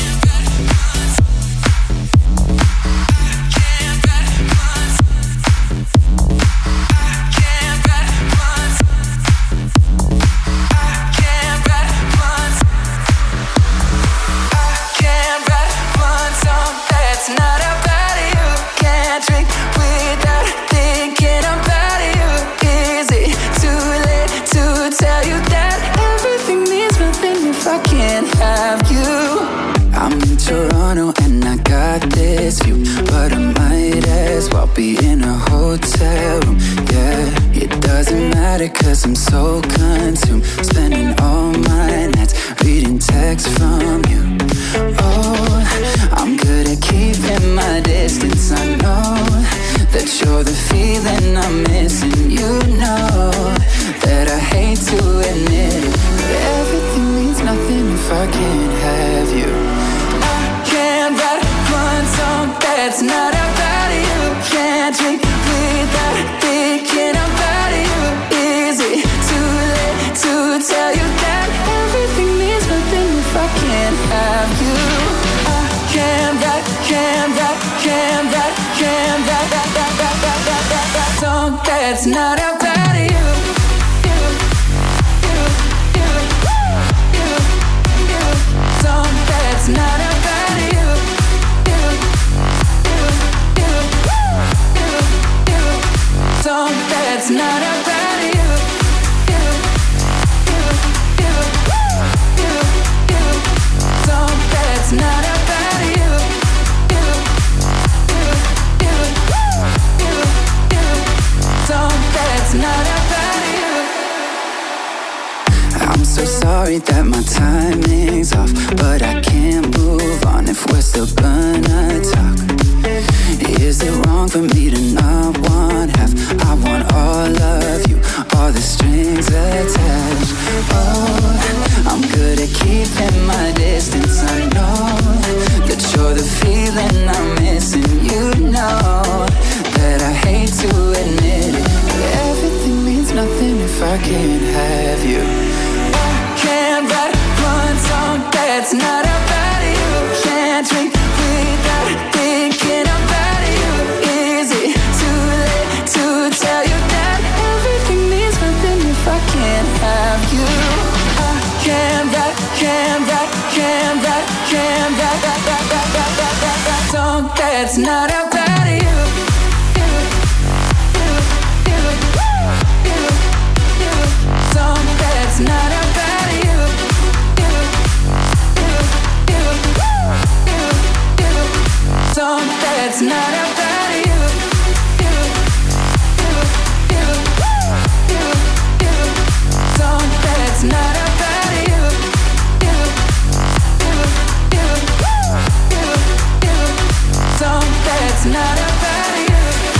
But I might as well be in a hotel room, yeah. It doesn't matter cause I'm so consumed, spending all my nights reading texts from you. Oh, I'm good at keeping my distance. I know that you're the feeling I'm missing. You know that I hate to admit it, but everything means nothing if I can't have you. I can't write one song that's not about you. Can't drink without thinking about you. Is it too late to tell you that everything means nothing if I can't have you? I can't write, can't write, can't write, can't write that, that, that, that, that, that, that song that's not about you. You, you, you, you, you, song that's not about you. Song that's not about you. You, you, you, you, you. Song that's not about you. You, you, you, you, you. Song admit that my timing's off, but I can't move on if we're still gonna talk. Is it wrong for me to not want half? I want all of you, all the strings attached. Oh, I'm good at keeping my distance. I know that you're the feeling I'm missing. You know that I hate to admit it, but everything means nothing if I can't have you. I can't write one song that's not about you. Can't drink without thinking about you. Is it too late to tell you that everything means nothing if I can't have you? I can't write, can't write, can't write, can't write, write, write, write, write, write, write, write, song that's not about you. Song that's not about you. Song that's not about you. Song that's not about you. Song that's not about you.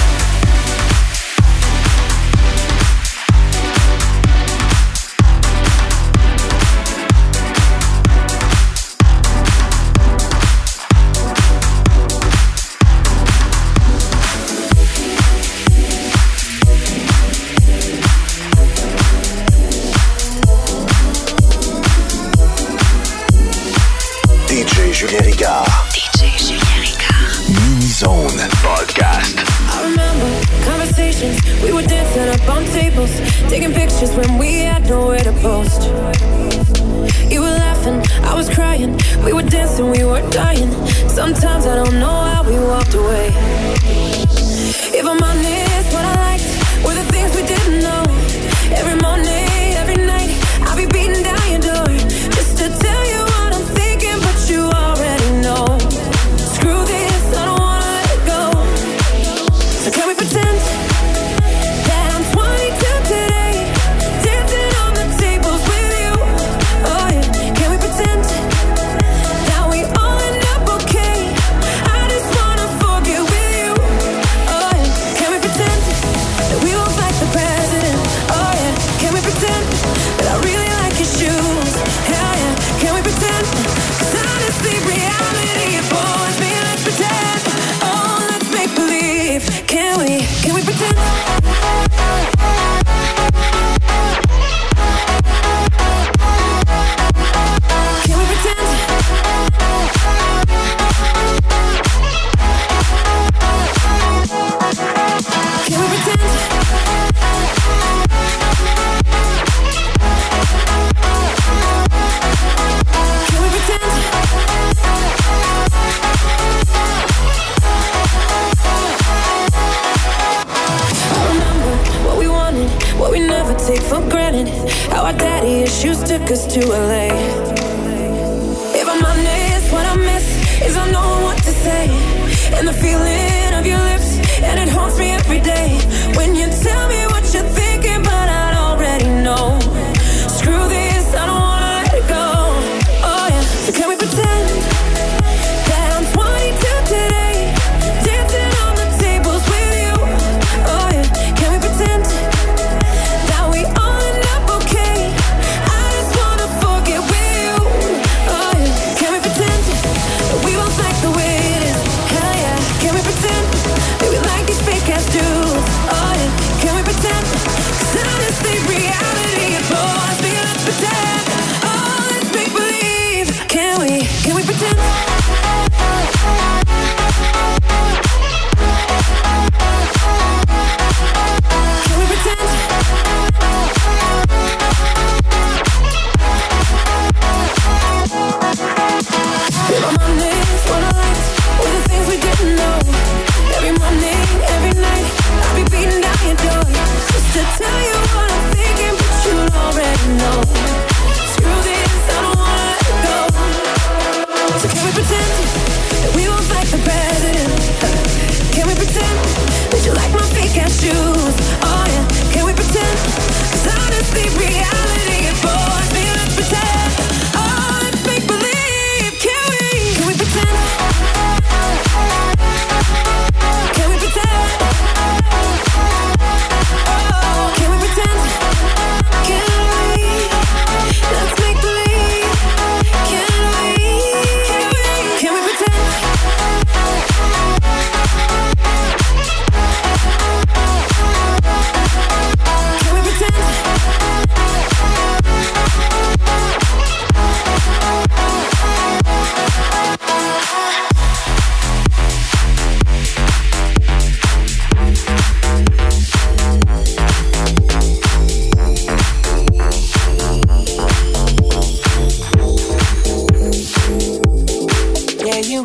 D J Julien Ricard. D J Julien Ricard. Mini Zone Podcast. I remember conversations, we were dancing up on tables, taking pictures when we had nowhere to post. You were laughing, I was crying, we were dancing, we were dying. Sometimes I don't know how we walked away. If I'm honest, what I liked were the things we didn't know. Every morning, every night, I'll be beating down your door just to tell you what I'm thinking, but you already know. Screw this, I don't wanna let it go. So can we pretend that I'm twenty-two today, dancing on the tables with you? Oh yeah, can we pretend that we all end up okay? I just wanna forget with you. Oh yeah, can we pretend that we won't fight the president? Oh yeah, can we pretend that I really like your shoes? Hell yeah, can we pretend? 'Cause honestly, reality it bores me. Let's pretend. Oh, let's make believe. Can we? Can we pretend? Can we pretend? Can we pretend? Can we pretend? I remember what we wanted, what we never take for granted. How our daddy issues took us to L A. If I'm honest, what I miss is I know what to say, and the feeling of your lips, and it haunts me every day. When you tell me what you're thinking, but I already know. Screw this, I don't wanna let it go. Oh yeah, so can we pretend that I'm twenty-two today, dancing on the tables with you? Oh yeah, can we pretend that we all end up okay? I just wanna forget with you. Oh yeah, can we pretend that we won't like the way it is? Hell yeah, can we pretend that we like these fake ass dudes? Oh yeah, can we pretend? 'Cause honestly, reality it bores me. Let's pretend. Oh, let's make believe. Can we? Can we pretend? Can we pretend? If I'm honest, what I liked were the things we didn't know. Every morning, every night, I'll be beating down your door just to tell you what I'm thinking, but you already know. Screw this, I don't wanna let it go. So can we pretend that we won't fight the president? Can we pretend that you like my fake ass shoes? Oh yeah, can we pretend? 'Cause honestly, reality it bores me. Let's pretend.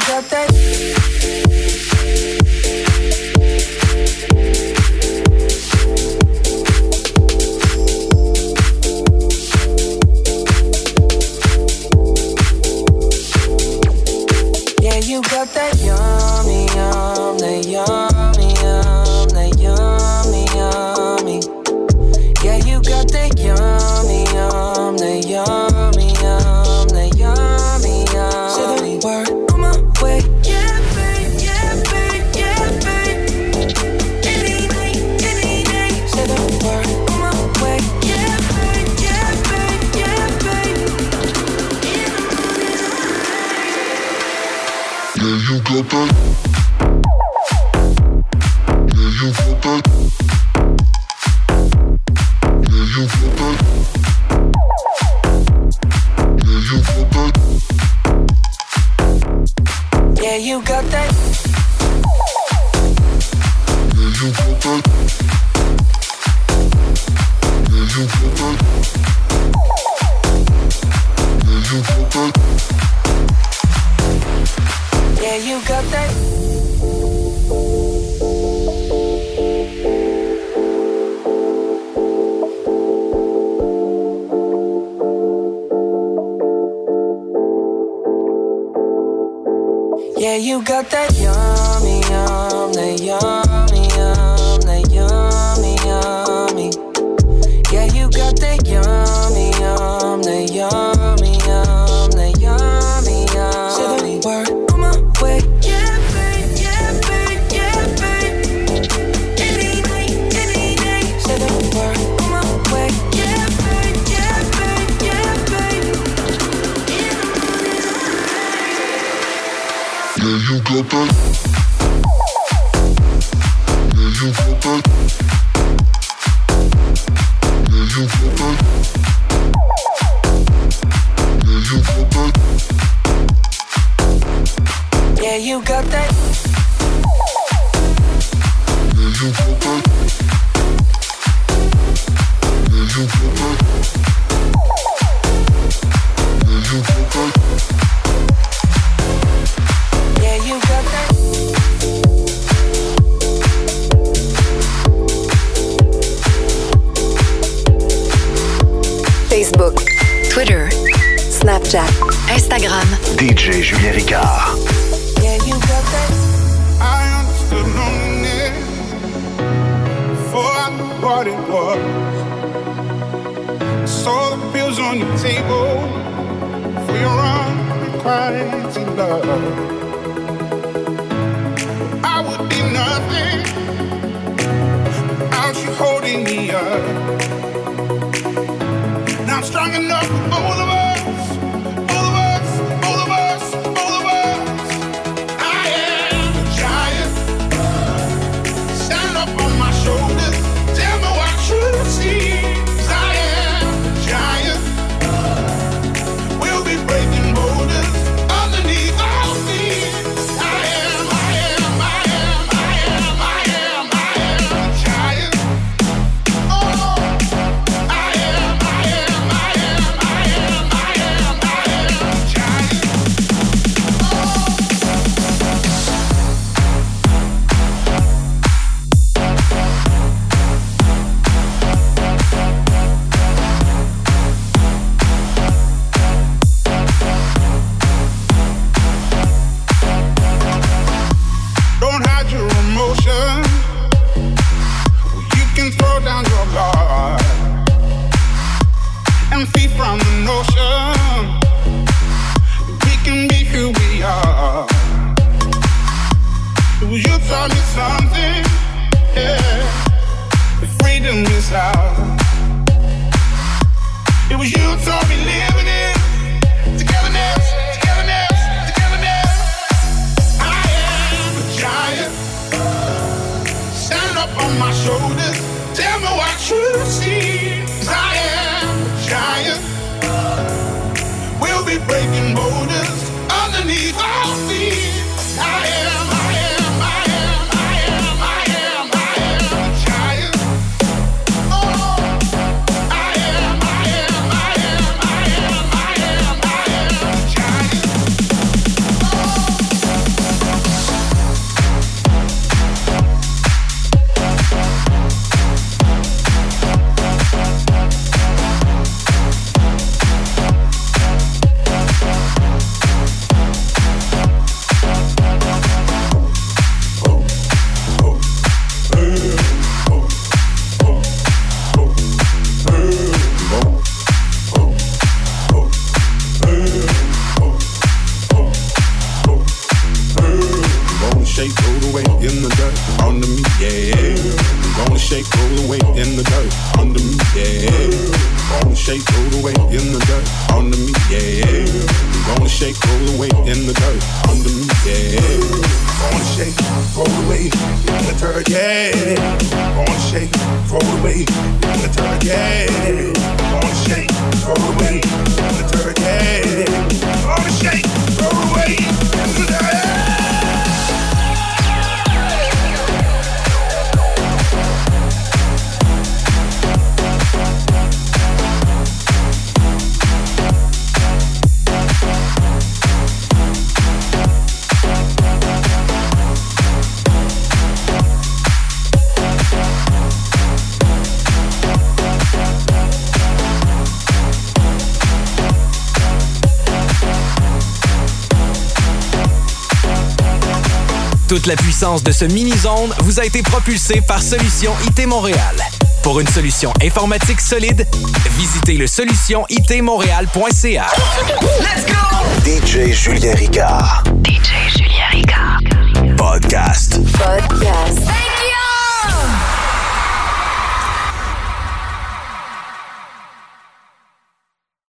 got that. Yeah, you got that yummy, yum, that yummy, yum, that yummy, yummy. Yeah, you got that yummy, yum, that yummy, yum, that yummy, yum. Say the word on my way. Yeah, babe, yeah, babe, yeah, babe. Any night, any day. Say the word on my way. Yeah, babe, yeah, babe, yeah, babe. Yeah, you got that. Yeah, you got that. Yeah, you got that. Yeah, you got that. Yeah, you got that. Yeah, you got that. Yeah, you got that. Yeah, you got that. Yeah, you got that. Yeah, you got that yummy, yum, that yummy, yum, that yummy, yummy. Yeah, you got that yummy, yum, that yummy, yum, that yummy, yum. Say the word on my way. Yeah, babe, yeah, babe, yeah, babe. Any night, any day. Say the word on my way. Yeah, babe, yeah, babe, yeah, babe. Yeah, you got that. Yeah, you got that. Yeah, you got that. Yeah, you got that. Yeah, you got that. Yeah, you got that. Yeah, you got that. Yeah, you got that. Yeah, you got that. Facebook, Twitter, Snapchat, Instagram. D J Julien Ricard. Yeah, you got that. I understood loneliness before I knew what it was. Saw the pills on your table for your unrequited love. I would be nothing without you holding me up. Now I'm strong enough for both of us. Both of us, both of us, both of us. I am a giant. Stand up on my shoulders. Tell me what you see. 'Cause I am a giant. We'll be breaking borders underneath our feet. I am, I am, I am, I am, I am, I am a giant. Oh, I am, I am, I am, I am, I am, I am a giant. Don't hide your emotion. You can throw down your guard and feed from the notion we can be who we are. It was you taught me something, yeah. The freedom is ours. It was you taught me living it. Togetherness, togetherness, togetherness. I am a giant. Stand up on my shoulders. Tell me what you see. 'Cause I am a giant. We'll be breaking borders underneath our feet. I am, I am, I am, I am, I am, I am a giant. Oh, I am, I am, I am, I am, I am, I am a giant. Oh. shake, roll away in the dirt under me, yeah. Gonna shake, roll away in the dirt under me, yeah. Gonna shake, roll away in the dirt under me, yeah. Gonna shake, roll away in the dirt under me, yeah. Gonna shake, roll away in the dirt, yeah. Gonna shake, roll away in the dirt, yeah. Gonna shake, roll away in the dirt, yeah. Gonna shake, roll away in the dirt. Toute la puissance de ce mini-zone vous a été propulsée par Solution I T Montréal. Pour une solution informatique solide, visitez le solution I T montréal point C A. Let's go! D J Julien Ricard.